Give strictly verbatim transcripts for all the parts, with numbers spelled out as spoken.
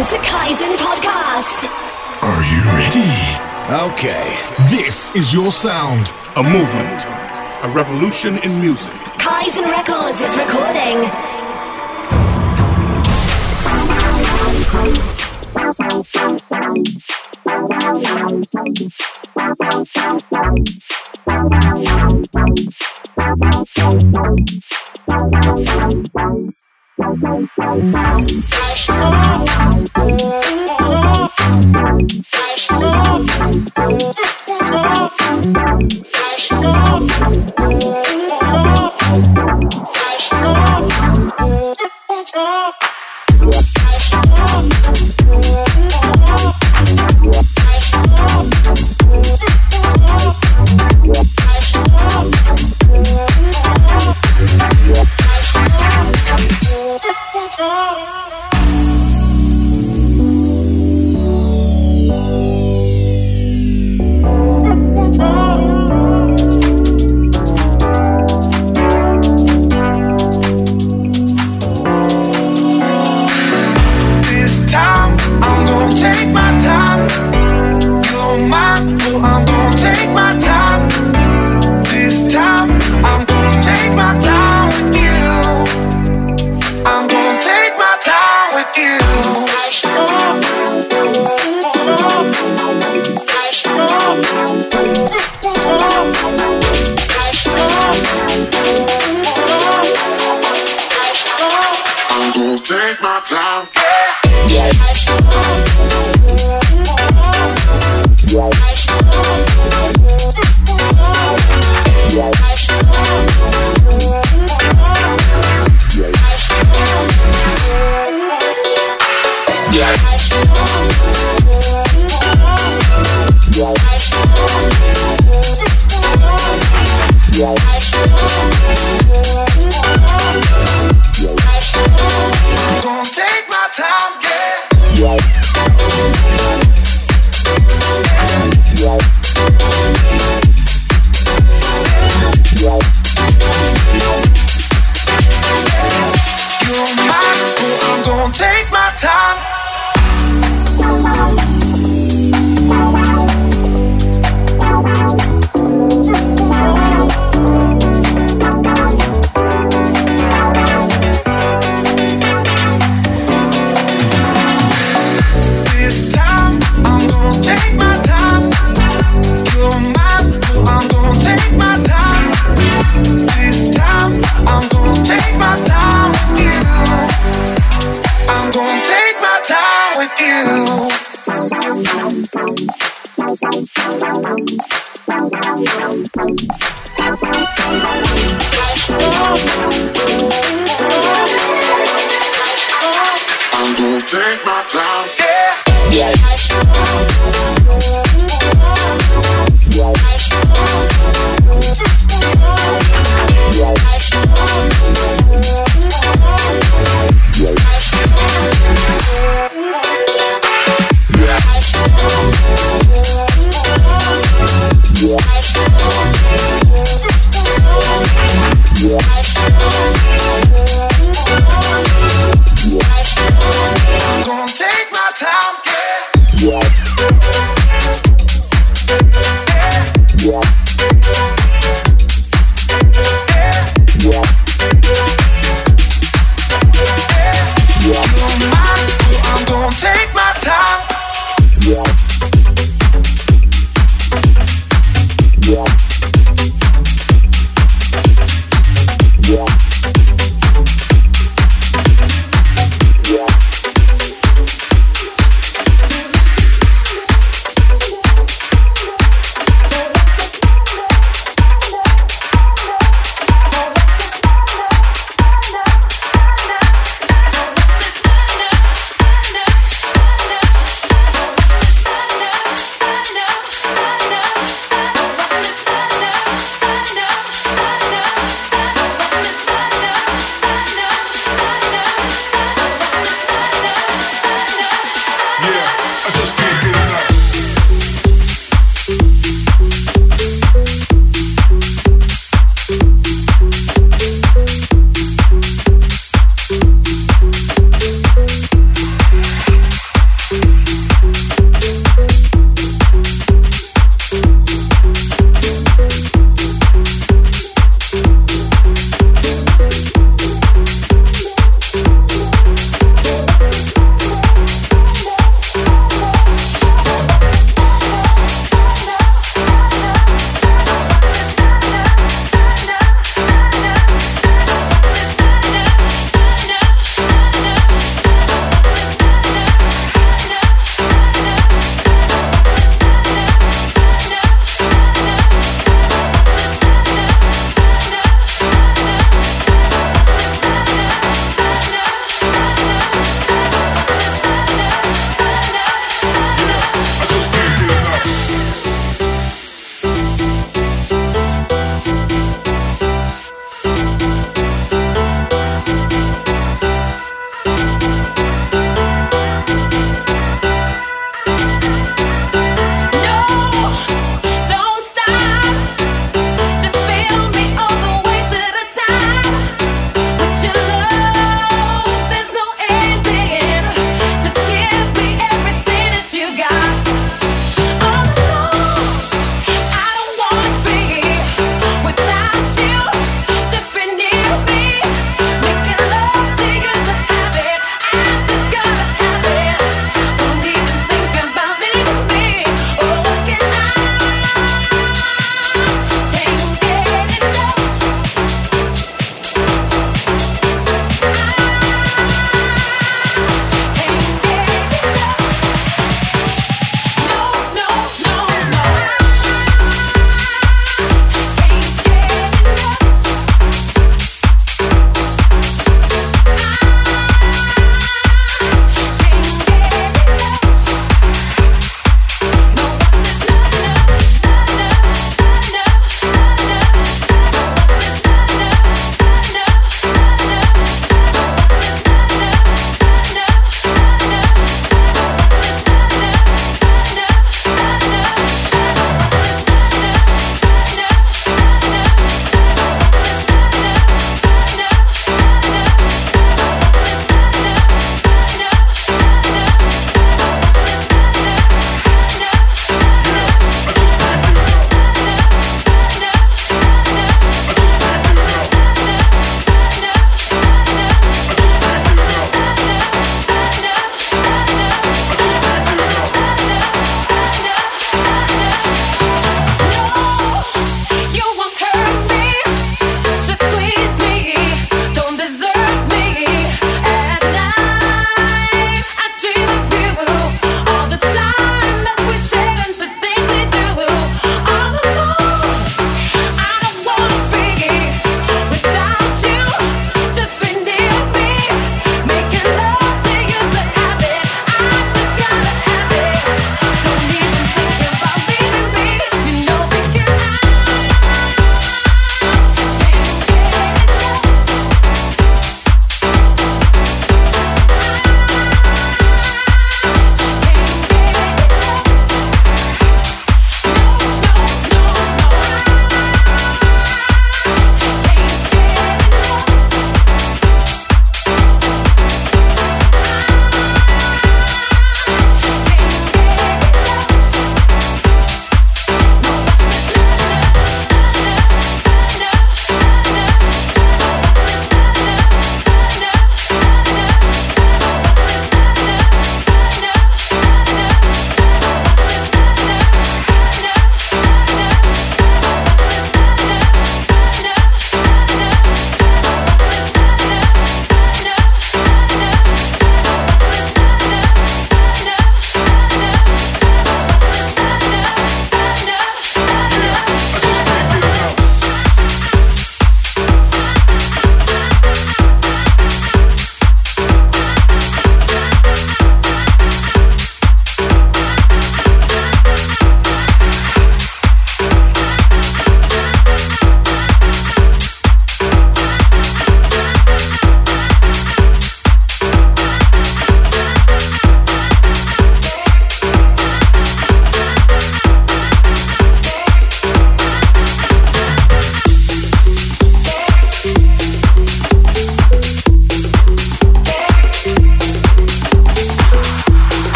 Welcome to Kaizen Podcast. Are you ready? Okay. This is your sound. A movement. A revolution in music. Kaizen Records is recording.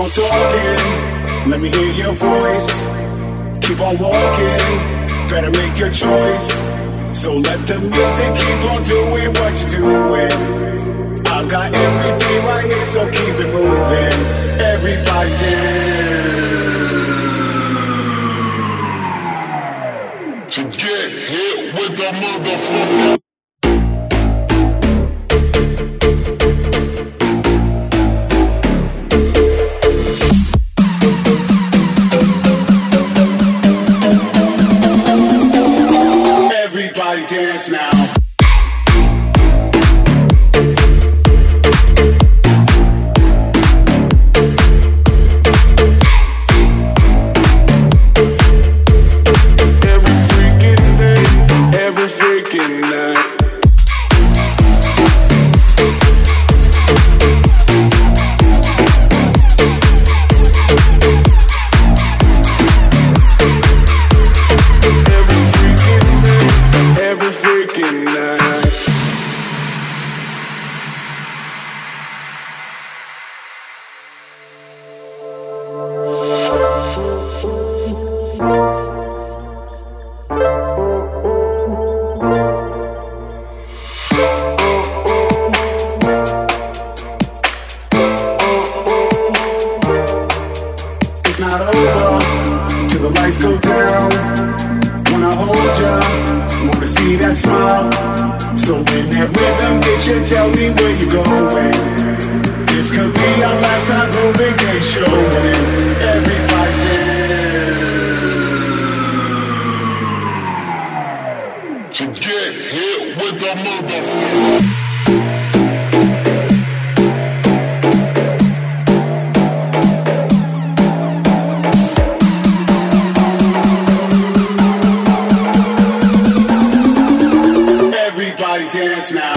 on talking, let me hear your voice. Keep on walking, better make your choice. So let the music keep on doing what you're doing. I've got everything right here, so keep it moving. Everybody dance. To get hit with the motherfucker. Everybody dance now. Dance now.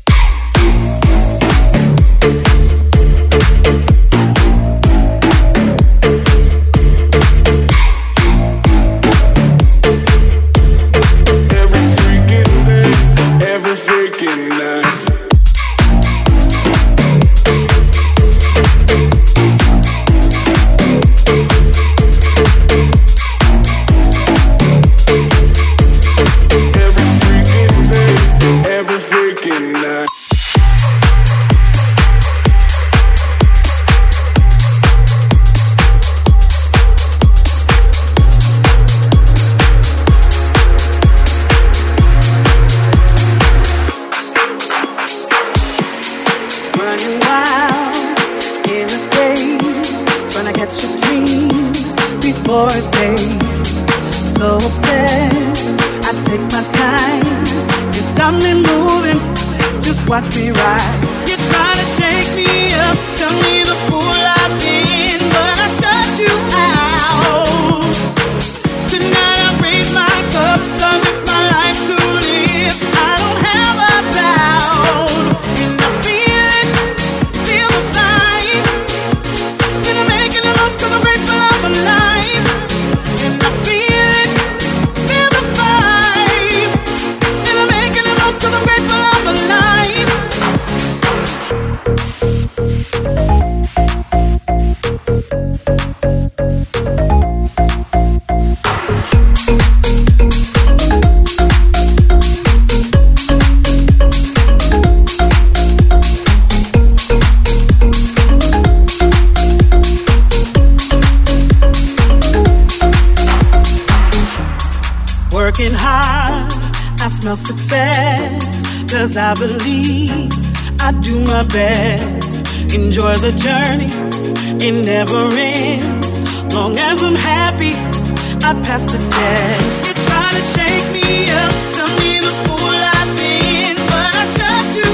Working hard, I smell success, 'cause I believe I do my best. Enjoy the journey, it never ends. Long as I'm happy, I pass the test. You try to shake me up, tell me the fool I've been, but I shut you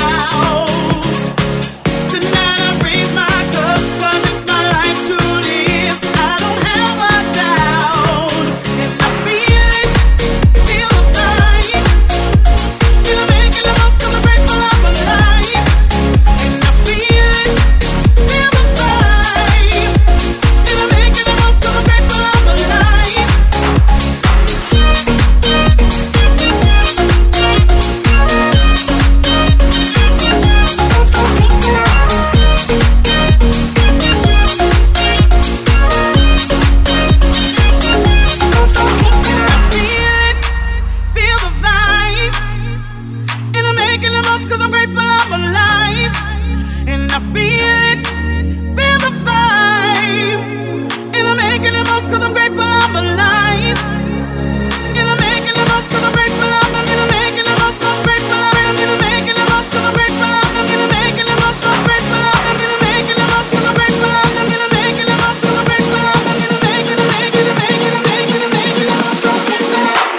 out. Tonight I raise my cup, 'cause it's my life to live. I don't have a doubt, and I feel it, feel the vibe. Feel I'm making the most, 'cause I'm grateful I'm alive. And I feel it, feel the vibe. Feel I'm making the most, 'cause I'm grateful I'm alive. most cause I'm grateful I'm alive. And I feel it, feel the vibe. And I'm making the most cause I'm grateful I'm alive. And I'm making the most cause I'm grateful I'm alive. And I'm making the most cause I'm grateful I'm alive. And I'm making the most cause I'm grateful I'm alive. And I'm making the most cause I'm grateful I'm alive. And I'm making the most cause I'm grateful I'm alive. And I'm making the most cause I'm grateful I'm alive. And I'm making the making the making the making the making the most cause I'm grateful I'm alive.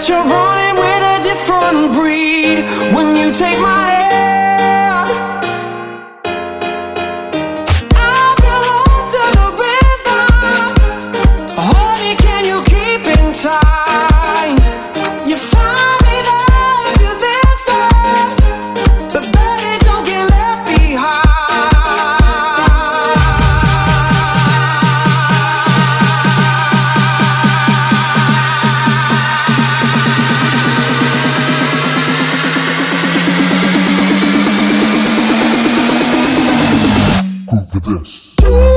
that you're running with a different breed when you take my hand. I belong to the rhythm. Honey, can you keep in time? You find me there if you deserve, but baby, don't get left behind. This.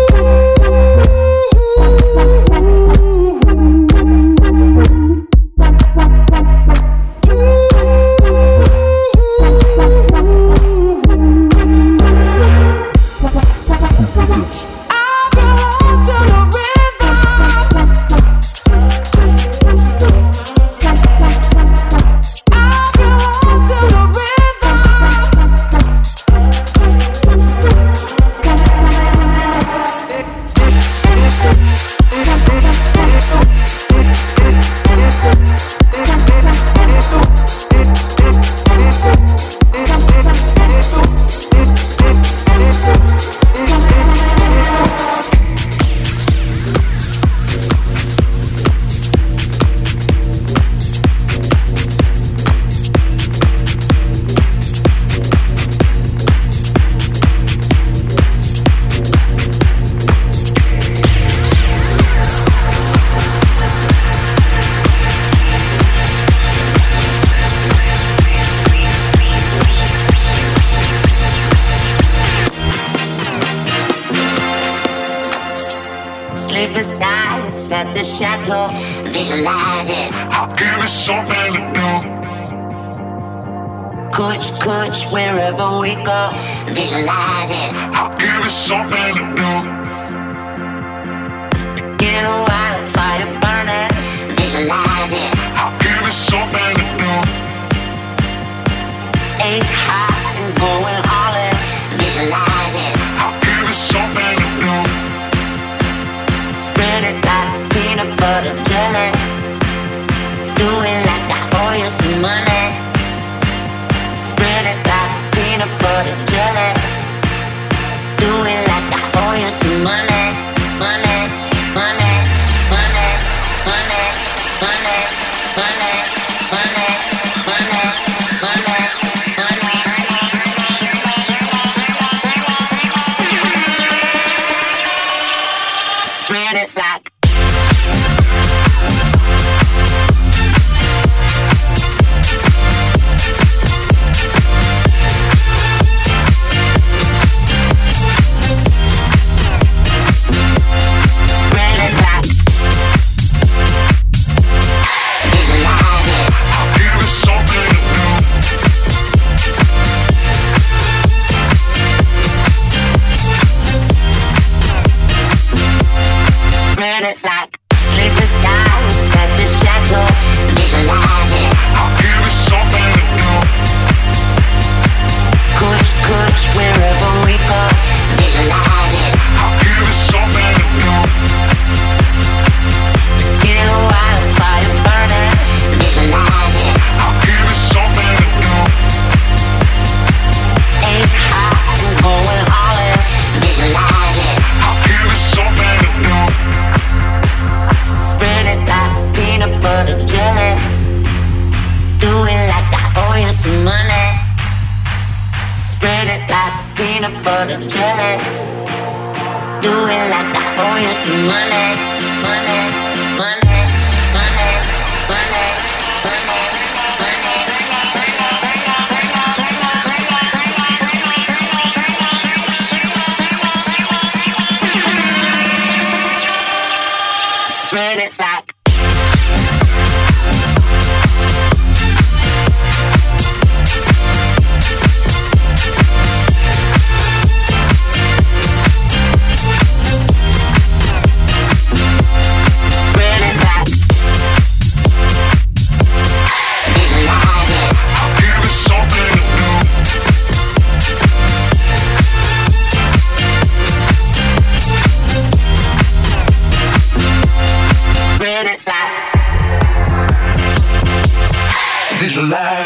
Sleepless nights at the chateau, visualize it. I'll give it something to do. Coach, coach, wherever we go, visualize it. I'll give it something to do. Get a wild fire burning, visualize it. I'll give it something to do. Ace high and going all in, visualize it. I'll give it something to do. Spread it like peanut butter jelly. Do it like I owe you some money. Spread it like peanut butter jelly. Do it like I owe you some money. Money, money, money, money, money, money, money, money, money, money. Spread it like like sleepless nights at the chateau, visualize it. I'll give it something to do. Coach, coach, wherever we go, visualize it. I'll give it something to do. Get a wildfire burning, visualize it. I'll give it something to do. Ace high and going all in, visualize it. I'll give it something to do. Spread it like peanut butter jelly. Do it like I owe you some money. Spread it like peanut butter jelly. Do it like I owe you some money. Money, money, money, money, money, money. Spread it like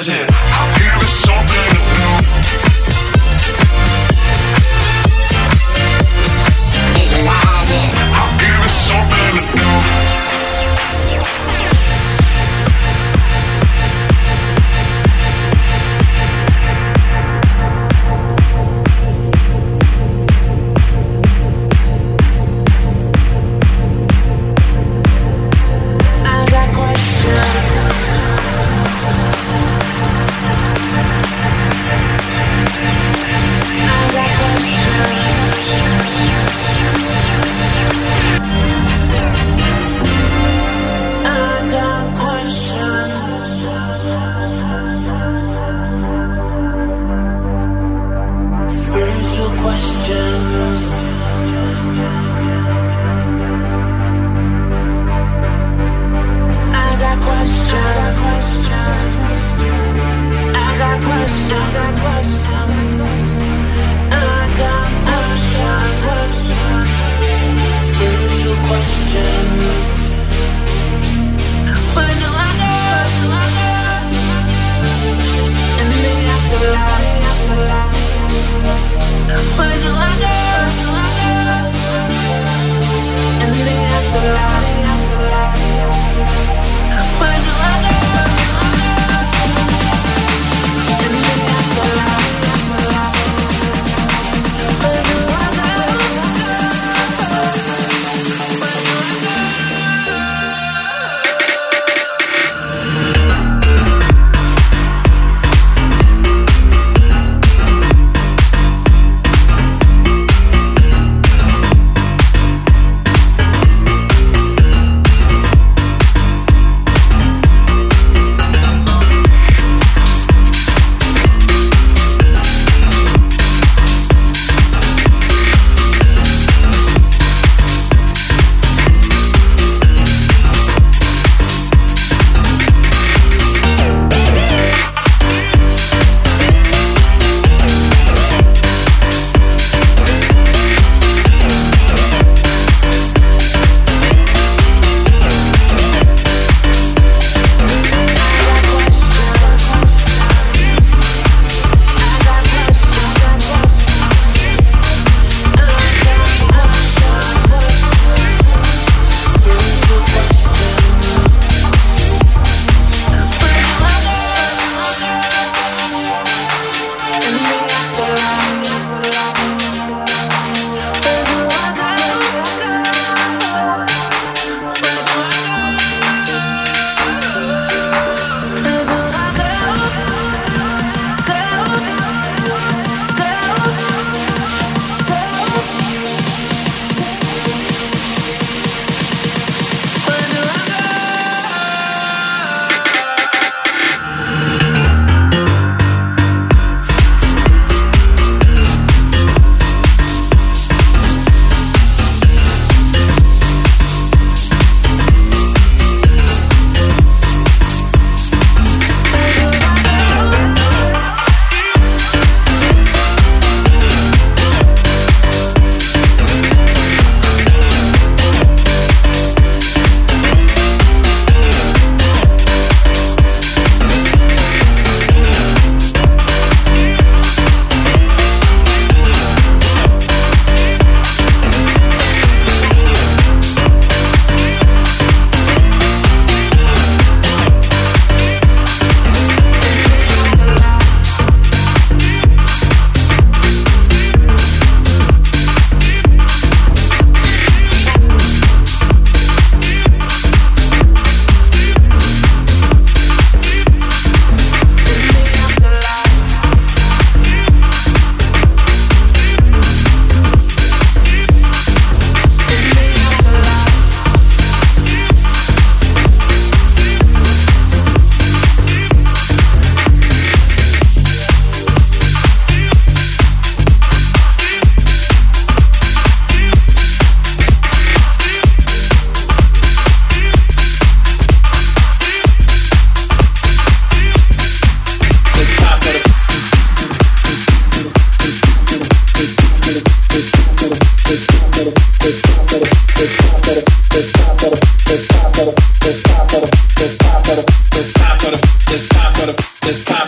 It's time for the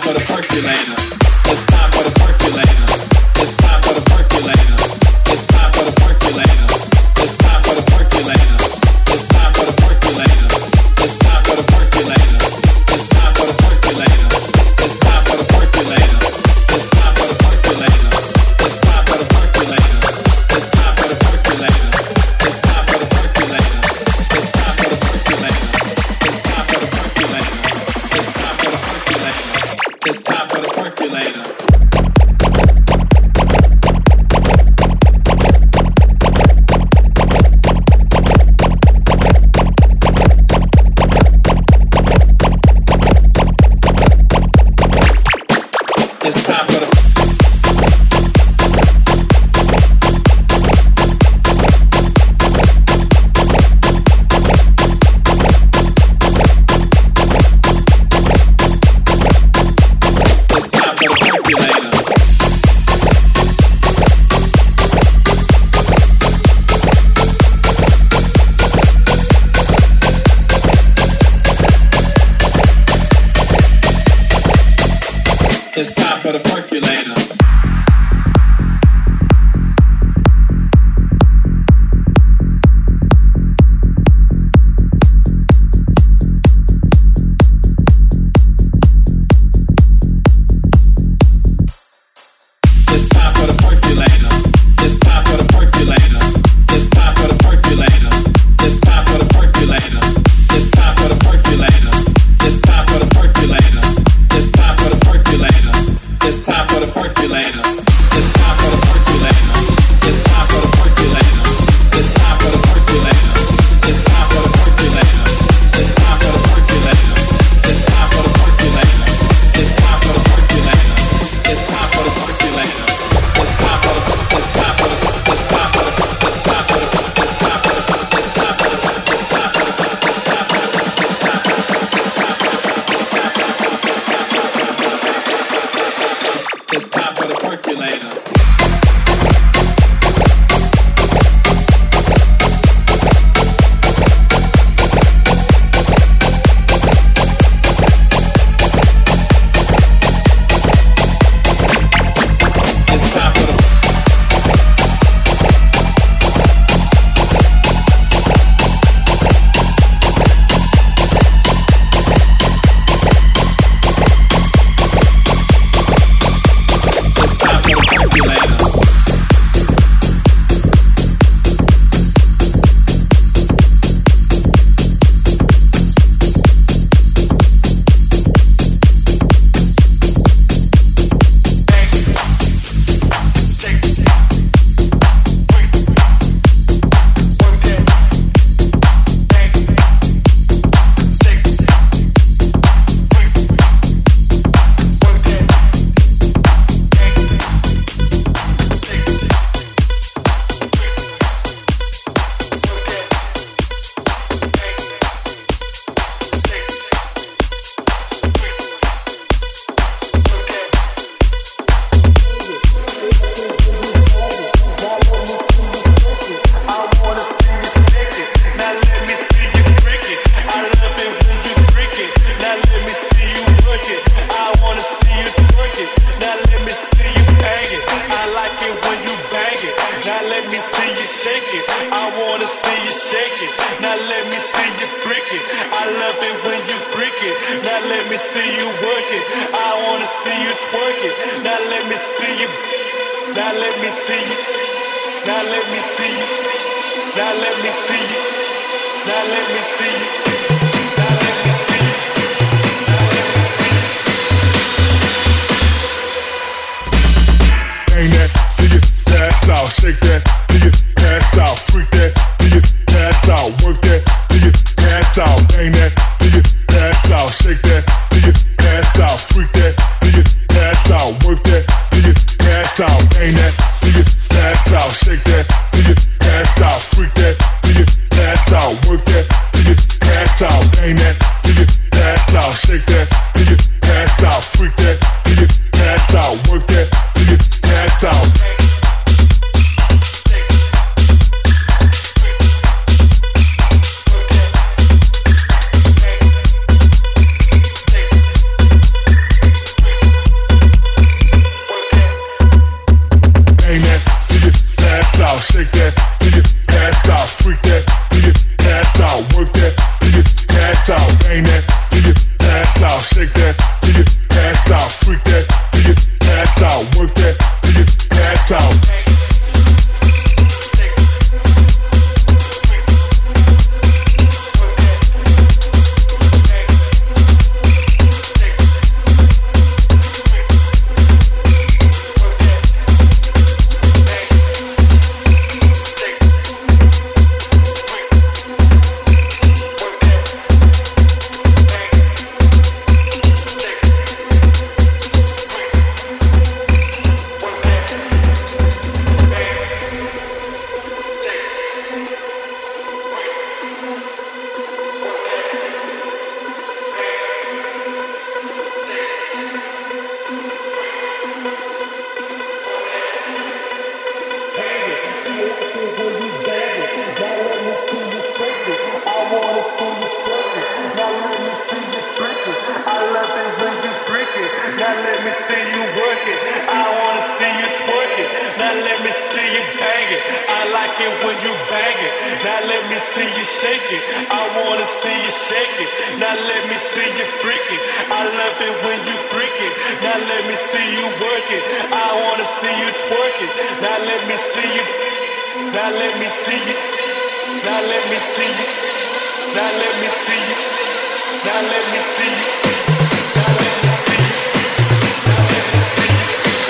it. I like it when you bang it. Now let me see you shake it. I wanna see you shake it. Now let me see you freak it. I love it when you freak it. Now let me see you work it. I wanna see you twerk it. Now let me see you. Now let me see you. Now let me see you. Now let me see you. Now let me see you. Now let me see you. Now let me see you.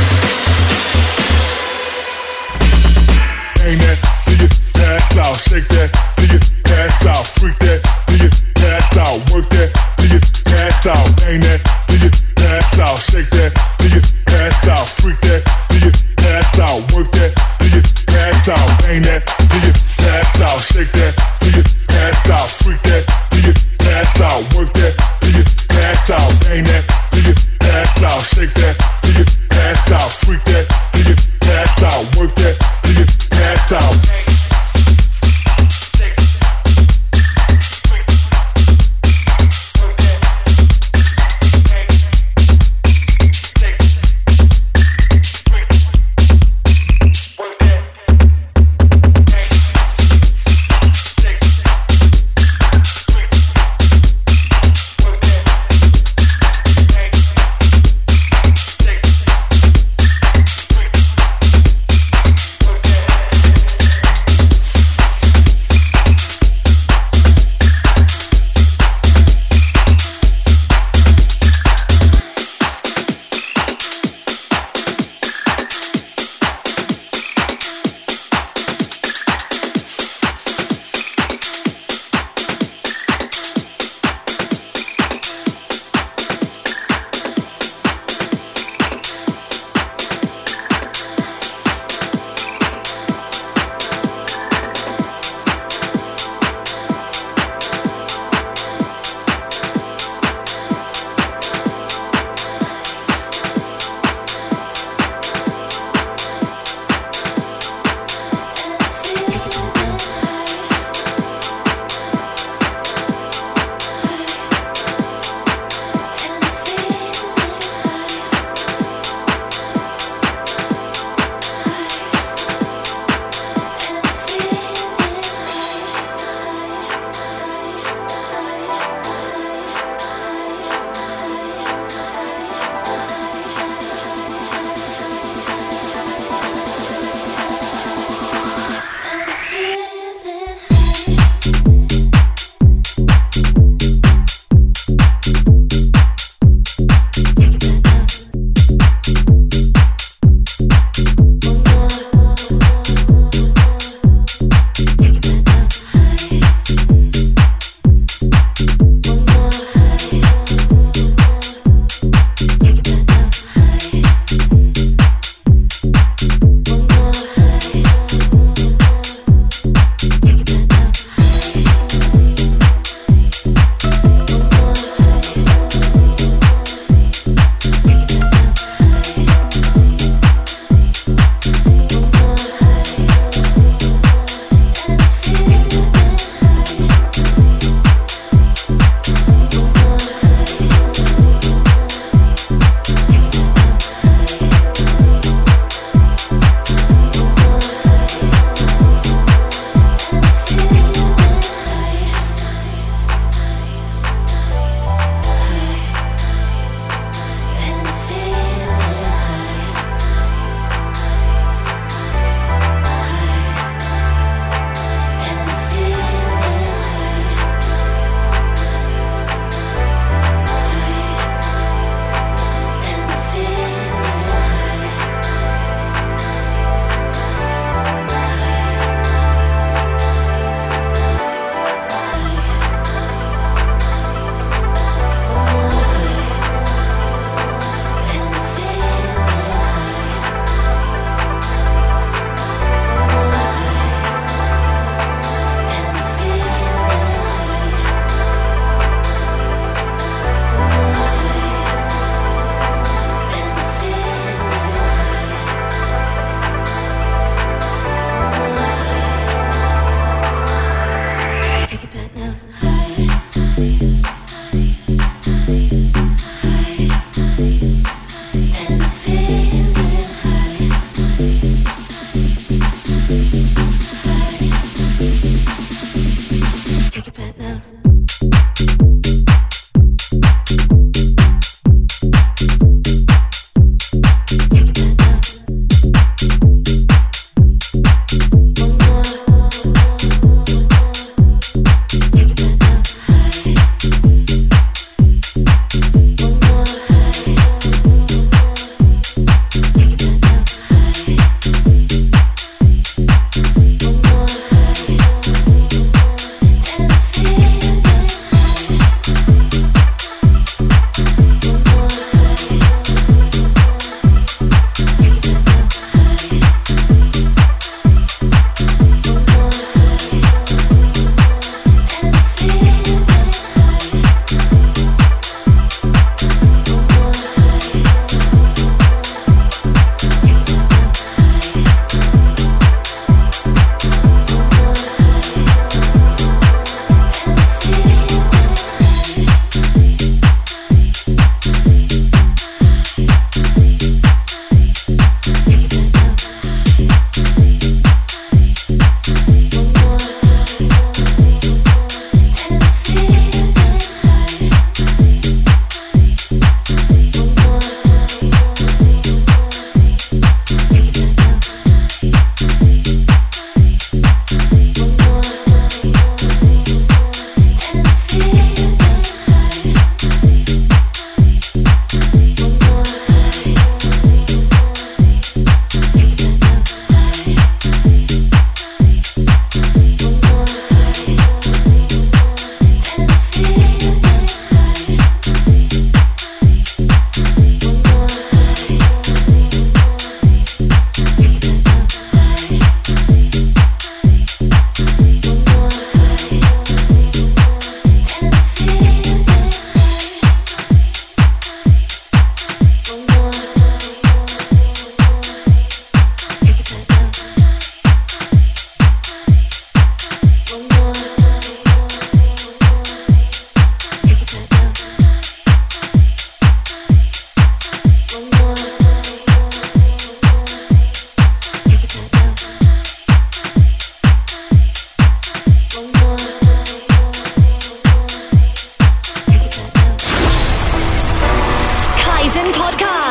Ain't that till you pass out, shake that till you pass out, freak that till you pass out, work that till you pass out. Ain't that till you pass out, shake that till you pass out, freak that till you pass out, work that till you pass out. Ain't that till you pass out, shake that till you pass out, freak that till you pass out, work that till you pass out. Ain't that till you pass out, shake that till you pass out, freak that till you pass out, work that till you pass out.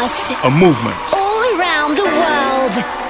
Podcast. A movement. All around the world.